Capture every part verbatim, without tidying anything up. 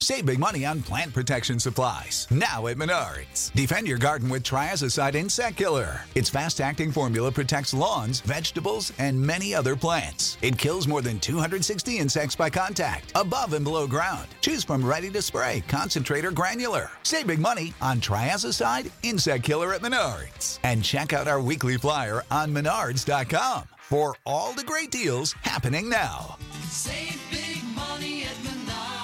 Save big money on plant protection supplies. Now at Menards. Defend your garden with Triazicide Insect Killer. Its fast-acting formula protects lawns, vegetables, and many other plants. It kills more than two hundred sixty insects by contact, above and below ground. Choose from ready to spray, concentrate, or granular. Save big money on Triazicide Insect Killer at Menards. And check out our weekly flyer on menards dot com for all the great deals happening now. Save big money at Menards.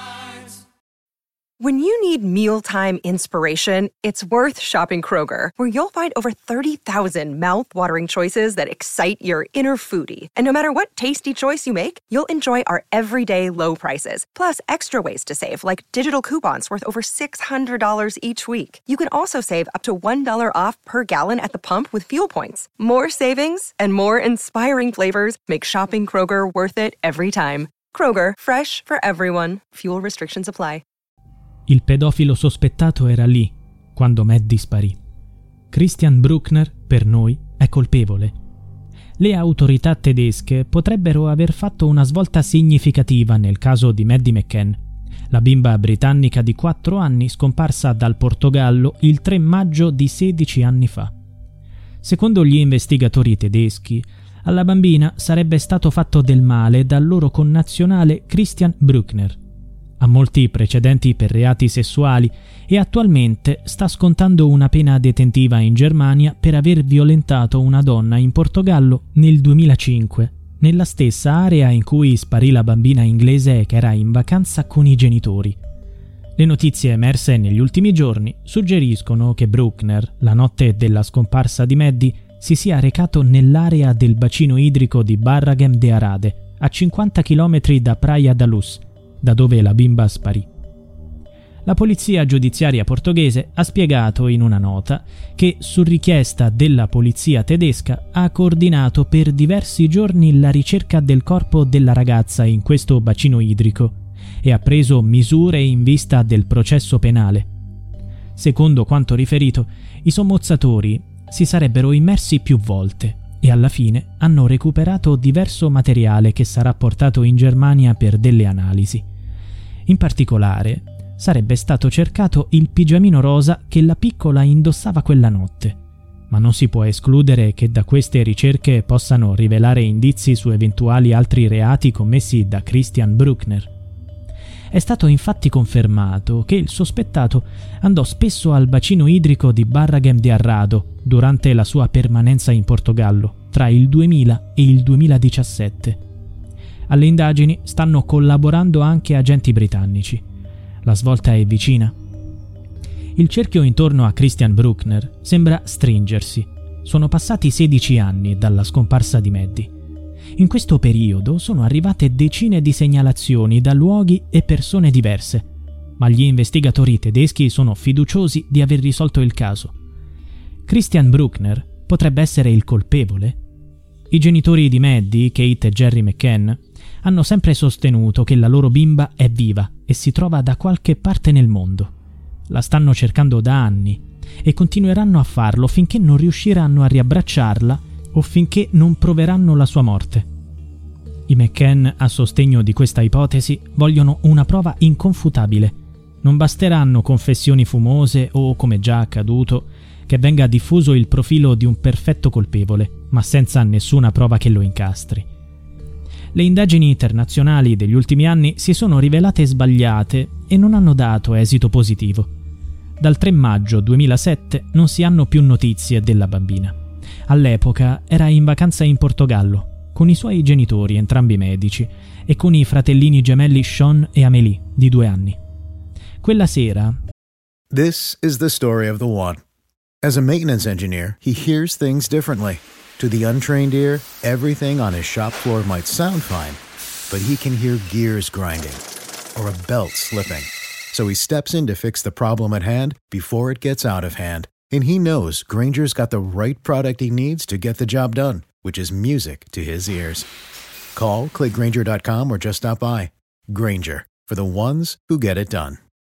When you need mealtime inspiration, it's worth shopping Kroger, where you'll find over thirty thousand mouth-watering choices that excite your inner foodie. And no matter what tasty choice you make, you'll enjoy our everyday low prices, plus extra ways to save, like digital coupons worth over six hundred dollars each week. You can also save up to one dollar off per gallon at the pump with fuel points. More savings and more inspiring flavors make shopping Kroger worth it every time. Kroger, fresh for everyone. Fuel restrictions apply. Il pedofilo sospettato era lì quando Maddie sparì. Christian Bruckner, per noi, è colpevole. Le autorità tedesche potrebbero aver fatto una svolta significativa nel caso di Maddie McCann, la bimba britannica di quattro anni scomparsa dal Portogallo il tre maggio di sedici anni fa. Secondo gli investigatori tedeschi, alla bambina sarebbe stato fatto del male dal loro connazionale Christian Bruckner. Ha molti precedenti per reati sessuali e attualmente sta scontando una pena detentiva in Germania per aver violentato una donna in Portogallo nel duemilacinque, nella stessa area in cui sparì la bambina inglese che era in vacanza con i genitori. Le notizie emerse negli ultimi giorni suggeriscono che Bruckner, la notte della scomparsa di Maddie, si sia recato nell'area del bacino idrico di Barragem de Arade, a cinquanta chilometri da Praia da Luz, da dove la bimba sparì. La polizia giudiziaria portoghese ha spiegato in una nota che, su richiesta della polizia tedesca, ha coordinato per diversi giorni la ricerca del corpo della ragazza in questo bacino idrico e ha preso misure in vista del processo penale. Secondo quanto riferito, i sommozzatori si sarebbero immersi più volte e alla fine hanno recuperato diverso materiale che sarà portato in Germania per delle analisi. In particolare, sarebbe stato cercato il pigiamino rosa che la piccola indossava quella notte, ma non si può escludere che da queste ricerche possano rivelare indizi su eventuali altri reati commessi da Christian Bruckner. È stato infatti confermato che il sospettato andò spesso al bacino idrico di Barragem de Arrado durante la sua permanenza in Portogallo tra il duemila e il duemiladiciassette. Alle indagini stanno collaborando anche agenti britannici. La svolta è vicina. Il cerchio intorno a Christian Bruckner sembra stringersi. Sono passati sedici anni dalla scomparsa di Maddie. In questo periodo sono arrivate decine di segnalazioni da luoghi e persone diverse, ma gli investigatori tedeschi sono fiduciosi di aver risolto il caso. Christian Bruckner potrebbe essere il colpevole? I genitori di Maddie, Kate e Gerry McCann, hanno sempre sostenuto che la loro bimba è viva e si trova da qualche parte nel mondo. La stanno cercando da anni e continueranno a farlo finché non riusciranno a riabbracciarla o finché non proveranno la sua morte. I McCann, a sostegno di questa ipotesi, vogliono una prova inconfutabile. Non basteranno confessioni fumose o, come già accaduto, che venga diffuso il profilo di un perfetto colpevole, ma senza nessuna prova che lo incastri. Le indagini internazionali degli ultimi anni si sono rivelate sbagliate e non hanno dato esito positivo. Dal tre maggio duemilasette non si hanno più notizie della bambina. All'epoca era in vacanza in Portogallo, con i suoi genitori, entrambi medici, e con i fratellini gemelli Sean e Amélie, di due anni. Quella sera... This is the story of the one. As a maintenance engineer, he hears things differently. To the untrained ear, everything on his shop floor might sound fine, but he can hear gears grinding or a belt slipping. So he steps in to fix the problem at hand before it gets out of hand. And he knows Grainger's got the right product he needs to get the job done, which is music to his ears. Call, click Grainger dot com or just stop by. Grainger, for the ones who get it done.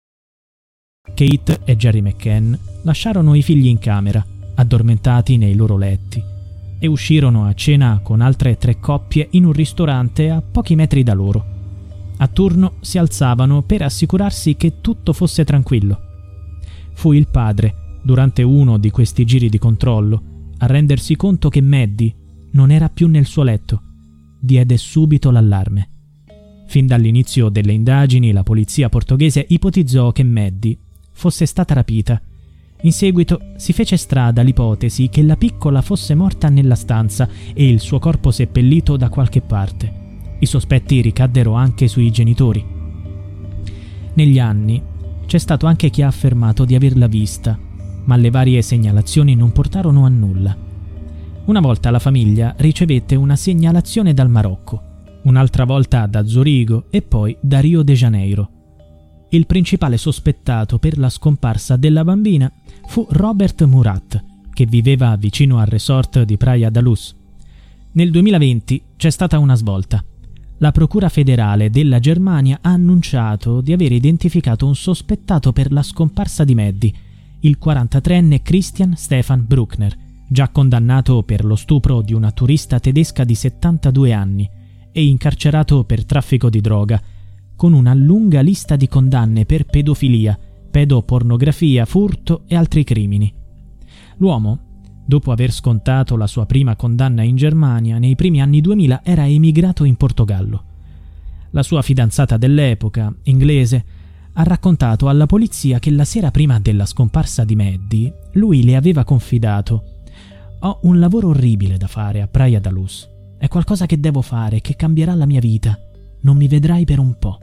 Kate e Gerry McCann lasciarono i figli in camera, addormentati nei loro letti, e uscirono a cena con altre tre coppie in un ristorante a pochi metri da loro. a turno si alzavano per assicurarsi che tutto fosse tranquillo. Fu il padre, durante uno di questi giri di controllo, a rendersi conto che Maddie non era più nel suo letto. Diede subito l'allarme. Fin dall'inizio delle indagini, la polizia portoghese ipotizzò che Maddie fosse stata rapita. In seguito si fece strada l'ipotesi che la piccola fosse morta nella stanza e il suo corpo seppellito da qualche parte. I sospetti ricaddero anche sui genitori. Negli anni c'è stato anche chi ha affermato di averla vista, ma le varie segnalazioni non portarono a nulla. Una volta la famiglia ricevette una segnalazione dal Marocco, un'altra volta da Zurigo e poi da Rio de Janeiro. Il principale sospettato per la scomparsa della bambina fu Robert Murat, che viveva vicino al resort di Praia da Luz. Nel duemilaventi c'è stata una svolta. La Procura federale della Germania ha annunciato di aver identificato un sospettato per la scomparsa di Maddie, il quarantatreenne Christian Stefan Bruckner, già condannato per lo stupro di una turista tedesca di settantadue anni e incarcerato per traffico di droga, con una lunga lista di condanne per pedofilia, pedopornografia, furto e altri crimini. L'uomo, dopo aver scontato la sua prima condanna in Germania, nei primi anni duemila era emigrato in Portogallo. La sua fidanzata dell'epoca, inglese, ha raccontato alla polizia che la sera prima della scomparsa di Maddie, lui le aveva confidato: «Ho un lavoro orribile da fare a Praia da Luz. È qualcosa che devo fare, che cambierà la mia vita. Non mi vedrai per un po'».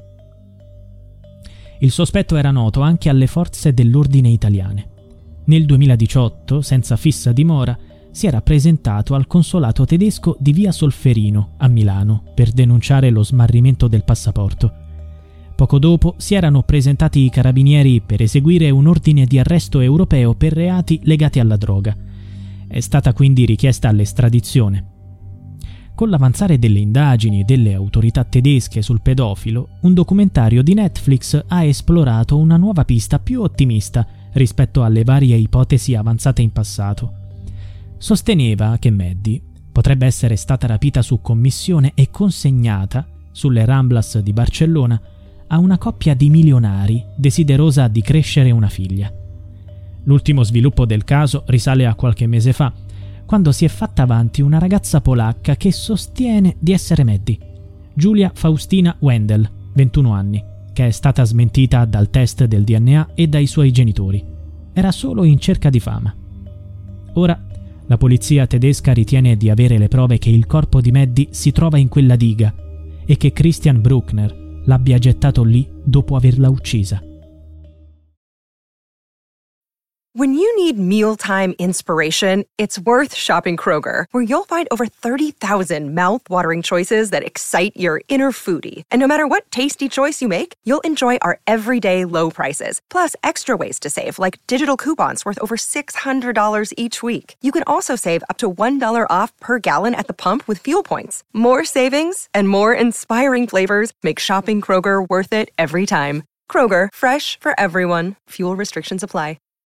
Il sospetto era noto anche alle forze dell'ordine italiane. Nel duemiladiciotto, senza fissa dimora, si era presentato al consolato tedesco di via Solferino, a Milano, per denunciare lo smarrimento del passaporto. Poco dopo si erano presentati i carabinieri per eseguire un ordine di arresto europeo per reati legati alla droga. È stata quindi richiesta l'estradizione. Con l'avanzare delle indagini delle autorità tedesche sul pedofilo, un documentario di Netflix ha esplorato una nuova pista più ottimista rispetto alle varie ipotesi avanzate in passato. Sosteneva che Maddie potrebbe essere stata rapita su commissione e consegnata, sulle Ramblas di Barcellona, a una coppia di milionari desiderosa di crescere una figlia. L'ultimo sviluppo del caso risale a qualche mese fa, quando si è fatta avanti una ragazza polacca che sostiene di essere Maddie, Giulia Faustina Wendel, ventuno anni, che è stata smentita dal test del D N A e dai suoi genitori. Era solo in cerca di fama. Ora, la polizia tedesca ritiene di avere le prove che il corpo di Maddie si trova in quella diga e che Christian Bruckner l'abbia gettato lì dopo averla uccisa. When you need mealtime inspiration, it's worth shopping Kroger, where you'll find over thirty thousand mouth-watering choices that excite your inner foodie. And no matter what tasty choice you make, you'll enjoy our everyday low prices, plus extra ways to save, like digital coupons worth over six hundred dollars each week. You can also save up to one dollar off per gallon at the pump with fuel points. More savings and more inspiring flavors make shopping Kroger worth it every time. Kroger, fresh for everyone. Fuel restrictions apply.